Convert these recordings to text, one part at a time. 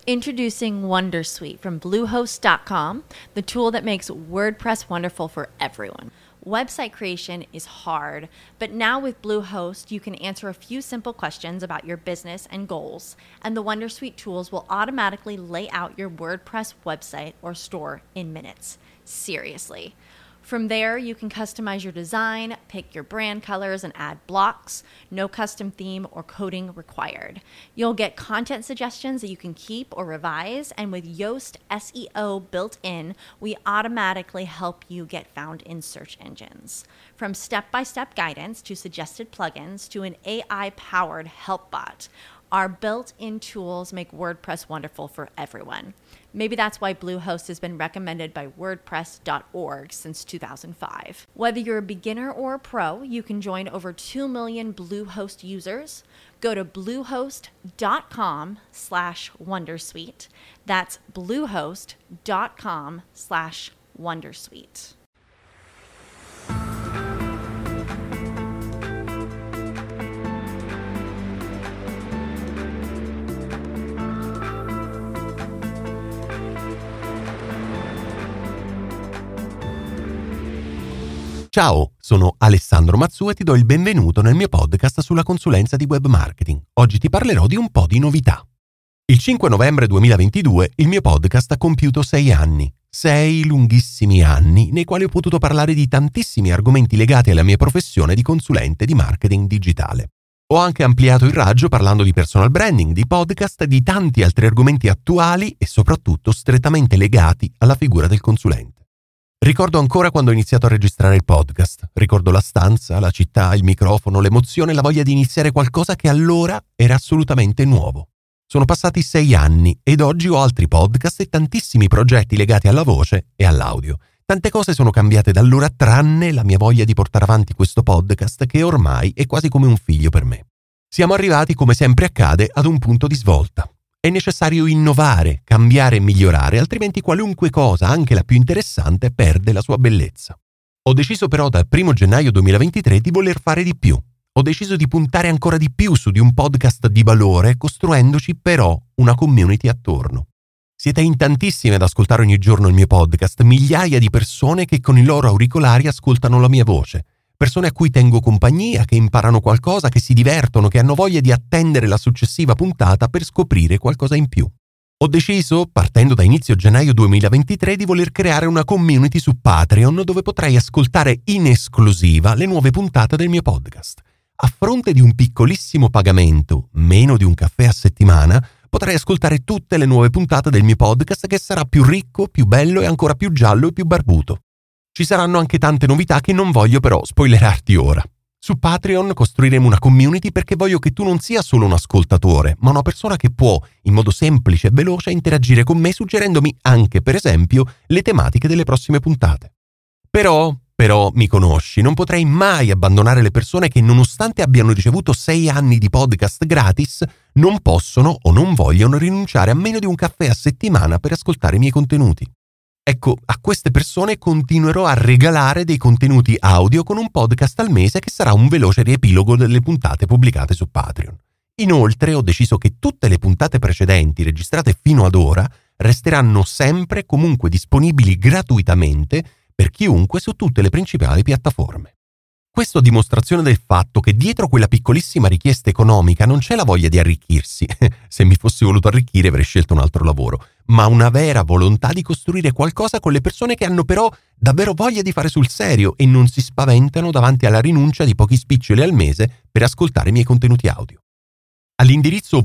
Introducing Wondersuite from Bluehost.com, the tool that makes WordPress wonderful for everyone. Website creation is hard, but now with Bluehost, you can answer a few simple questions about your business and goals, and the Wondersuite tools will automatically lay out your WordPress website or store in minutes. Seriously. From there, you can customize your design, pick your brand colors, and add blocks. No custom theme or coding required. You'll get content suggestions that you can keep or revise, and with Yoast SEO built in, we automatically help you get found in search engines. From step-by-step guidance to suggested plugins to an AI-powered help bot, our built-in tools make WordPress wonderful for everyone. Maybe that's why Bluehost has been recommended by WordPress.org since 2005. Whether you're a beginner or a pro, you can join over 2 million Bluehost users. Go to bluehost.com/wondersuite. That's bluehost.com/wondersuite. Ciao, sono Alessandro Mazzù e ti do il benvenuto nel mio podcast sulla consulenza di web marketing. Oggi ti parlerò di un po' di novità. Il 5 novembre 2022 il mio podcast ha compiuto 6 anni. 6 lunghissimi anni nei quali ho potuto parlare di tantissimi argomenti legati alla mia professione di consulente di marketing digitale. Ho anche ampliato il raggio parlando di personal branding, di podcast e di tanti altri argomenti attuali e soprattutto strettamente legati alla figura del consulente. Ricordo ancora quando ho iniziato a registrare il podcast. Ricordo la stanza, la città, il microfono, l'emozione e la voglia di iniziare qualcosa che allora era assolutamente nuovo. Sono passati 6 anni ed oggi ho altri podcast e tantissimi progetti legati alla voce e all'audio. Tante cose sono cambiate da allora tranne la mia voglia di portare avanti questo podcast che ormai è quasi come un figlio per me. Siamo arrivati, come sempre accade, ad un punto di svolta. È necessario innovare, cambiare e migliorare, altrimenti qualunque cosa, anche la più interessante, perde la sua bellezza. Ho deciso però dal 1 gennaio 2023 di voler fare di più. Ho deciso di puntare ancora di più su di un podcast di valore, costruendoci però una community attorno. Siete in tantissimi ad ascoltare ogni giorno il mio podcast, migliaia di persone che con i loro auricolari ascoltano la mia voce. Persone a cui tengo compagnia, che imparano qualcosa, che si divertono, che hanno voglia di attendere la successiva puntata per scoprire qualcosa in più. Ho deciso, partendo da inizio gennaio 2023, di voler creare una community su Patreon dove potrai ascoltare in esclusiva le nuove puntate del mio podcast. A fronte di un piccolissimo pagamento, meno di un caffè a settimana, potrai ascoltare tutte le nuove puntate del mio podcast che sarà più ricco, più bello e ancora più giallo e più barbuto. Ci saranno anche tante novità che non voglio però spoilerarti ora. Su Patreon costruiremo una community perché voglio che tu non sia solo un ascoltatore, ma una persona che può, in modo semplice e veloce, interagire con me suggerendomi anche, per esempio, le tematiche delle prossime puntate. Però, mi conosci, non potrei mai abbandonare le persone che, nonostante abbiano ricevuto 6 anni di podcast gratis, non possono o non vogliono rinunciare a meno di un caffè a settimana per ascoltare i miei contenuti. Ecco, a queste persone continuerò a regalare dei contenuti audio con un podcast al mese che sarà un veloce riepilogo delle puntate pubblicate su Patreon. Inoltre ho deciso che tutte le puntate precedenti registrate fino ad ora resteranno sempre comunque disponibili gratuitamente per chiunque su tutte le principali piattaforme. Questo a dimostrazione del fatto che dietro quella piccolissima richiesta economica non c'è la voglia di arricchirsi, se mi fossi voluto arricchire avrei scelto un altro lavoro, ma una vera volontà di costruire qualcosa con le persone che hanno però davvero voglia di fare sul serio e non si spaventano davanti alla rinuncia di pochi spiccioli al mese per ascoltare i miei contenuti audio. All'indirizzo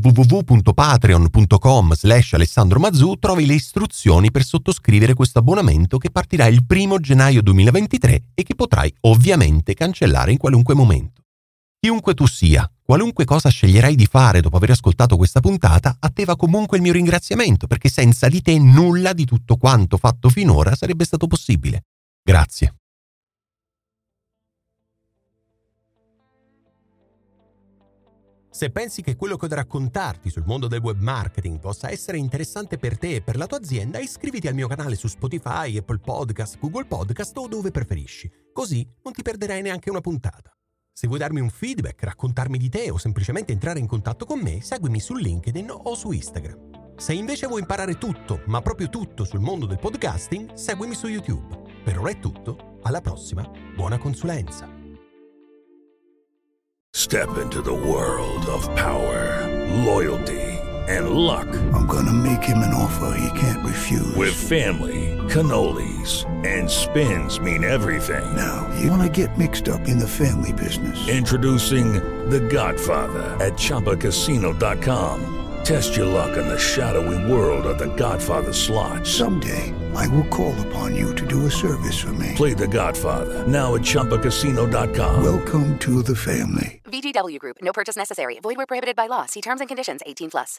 www.patreon.com/Alessandro Mazzù trovi le istruzioni per sottoscrivere questo abbonamento che partirà il 1 gennaio 2023 e che potrai ovviamente cancellare in qualunque momento. Chiunque tu sia, qualunque cosa sceglierai di fare dopo aver ascoltato questa puntata, a te va comunque il mio ringraziamento perché senza di te nulla di tutto quanto fatto finora sarebbe stato possibile. Grazie. Se pensi che quello che ho da raccontarti sul mondo del web marketing possa essere interessante per te e per la tua azienda, iscriviti al mio canale su Spotify, Apple Podcast, Google Podcast o dove preferisci. Così non ti perderai neanche una puntata. Se vuoi darmi un feedback, raccontarmi di te o semplicemente entrare in contatto con me, seguimi su LinkedIn o su Instagram. Se invece vuoi imparare tutto, ma proprio tutto sul mondo del podcasting, seguimi su YouTube. Per ora è tutto, alla prossima, buona consulenza. Step into the world of power, loyalty, and luck. I'm gonna make him an offer he can't refuse. With family, cannolis, and spins mean everything. Now, you wanna get mixed up in the family business. Introducing The Godfather at ChumbaCasino.com. Test your luck in the shadowy world of The Godfather slot. Someday, I will call upon you to do a service for me. Play The Godfather, now at ChumbaCasino.com. Welcome to the family. VGW Group. No purchase necessary. Void where prohibited by law. See terms and conditions. 18+.